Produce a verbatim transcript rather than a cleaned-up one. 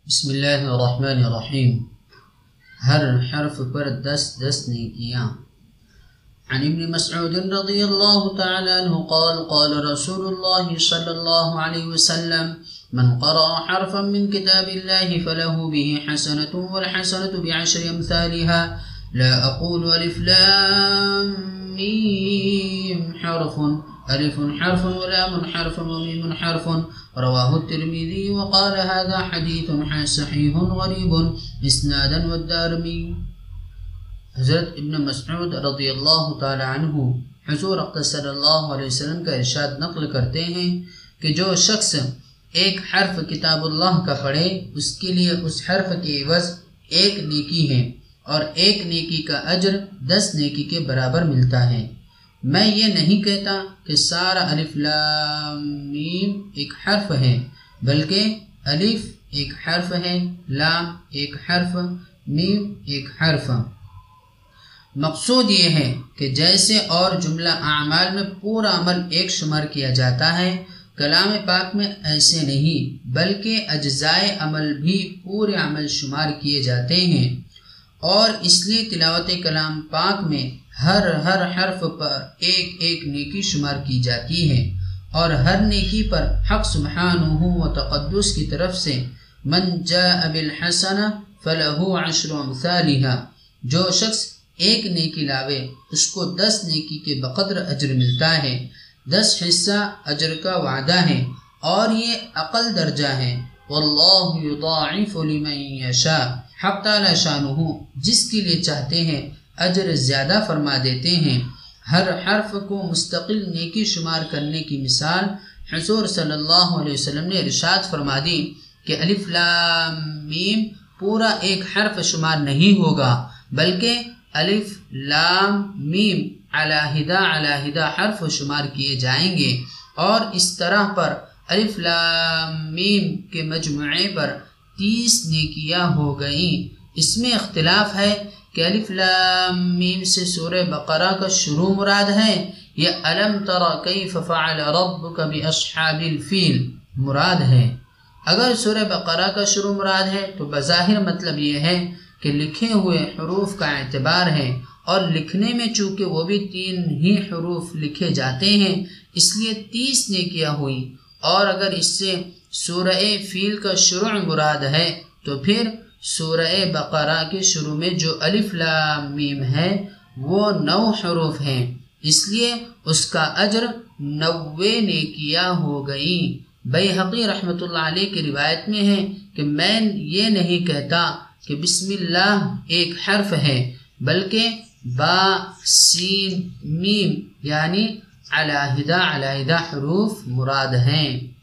بسم اللہ الرحمن الرحیم. ہر حرف پر دس دس نیکیاں. عن ابن مسعود رضی اللہ تعالی عنہ قال قال رسول اللہ صلی اللہ علیہ وسلم من قرأ حرفا من كتاب الله فله به حسنة والحسنة بعشر أمثالها لا أقول ألف لام ميم حرف ألف حرف ولام حرف وميم حرف. رواه الترمذي وقال هذا حديث صحيح غريب اسنادا والدارمي. حضرت ابن مسعود رضی اللہ تعالی عنہ حضور اقدس صلی اللہ علیہ وسلم کا ارشاد نقل کرتے ہیں کہ جو شخص ایک حرف کتاب اللہ کا پڑھے اس کے لیے اس حرف کے عوض ایک نیکی ہے اور ایک نیکی کا اجر دس نیکی کے برابر ملتا ہے. میں یہ نہیں کہتا کہ سارا الف لام میم ایک حرف ہے، بلکہ الف ایک حرف ہے، لام ایک حرف، میم ایک حرف. مقصود یہ ہے کہ جیسے اور جملہ اعمال میں پورا عمل ایک شمار کیا جاتا ہے، کلام پاک میں ایسے نہیں بلکہ اجزائے عمل بھی پورے عمل شمار کیے جاتے ہیں، اور اس لیے تلاوت کلام پاک میں ہر ہر حرف پر ایک ایک نیکی شمار کی جاتی ہے، اور ہر نیکی پر حق سبحانہ و تقدس کی طرف سے من جاء بالحسنہ فلہ عشر امثالها، جو شخص ایک نیکی لاوے اس کو دس نیکی کے بقدر اجر ملتا ہے. دس حصہ اجر کا وعدہ ہے اور یہ اقل درجہ ہے. واللہ یضاعف لمن یشاء، حق تعالی شانہ جس کے لیے چاہتے ہیں اجر زیادہ فرما دیتے ہیں. ہر حرف کو مستقل نیکی شمار کرنے کی مثال حضور صلی اللہ علیہ وسلم نے ارشاد فرما دی کہ الف لام میم پورا ایک حرف شمار نہیں ہوگا، بلکہ الف لام میم علیحدہ علیحدہ حرف شمار کیے جائیں گے، اور اس طرح پر الف لام میم کے مجموعے پر تیس نیکیاں ہو گئیں. اس میں اختلاف ہے کہ الف لام میم سے سورہ بقرہ کا شروع مراد ہے یا الم تر کیف فعل ربک باصحاب الفیل مراد ہے. اگر سورہ بقرہ کا شروع مراد ہے تو بظاہر مطلب یہ ہے کہ لکھے ہوئے حروف کا اعتبار ہے، اور لکھنے میں چونکہ وہ بھی تین ہی حروف لکھے جاتے ہیں اس لیے تیس نیکیاں ہوئی. اور اگر اس سے سورہ فیل کا شروع مراد ہے تو پھر سورہ بقرہ کے شروع میں جو الف لام میم ہے وہ نو حروف ہیں، اس لیے اس کا اجر نوے نیکیاں ہو گئیں. بیہقی رحمۃ اللہ علیہ کی روایت میں ہے کہ میں یہ نہیں کہتا کہ بسم اللہ ایک حرف ہے، بلکہ با سین میم یعنی علیحدہ علیحدہ حروف مراد ہیں.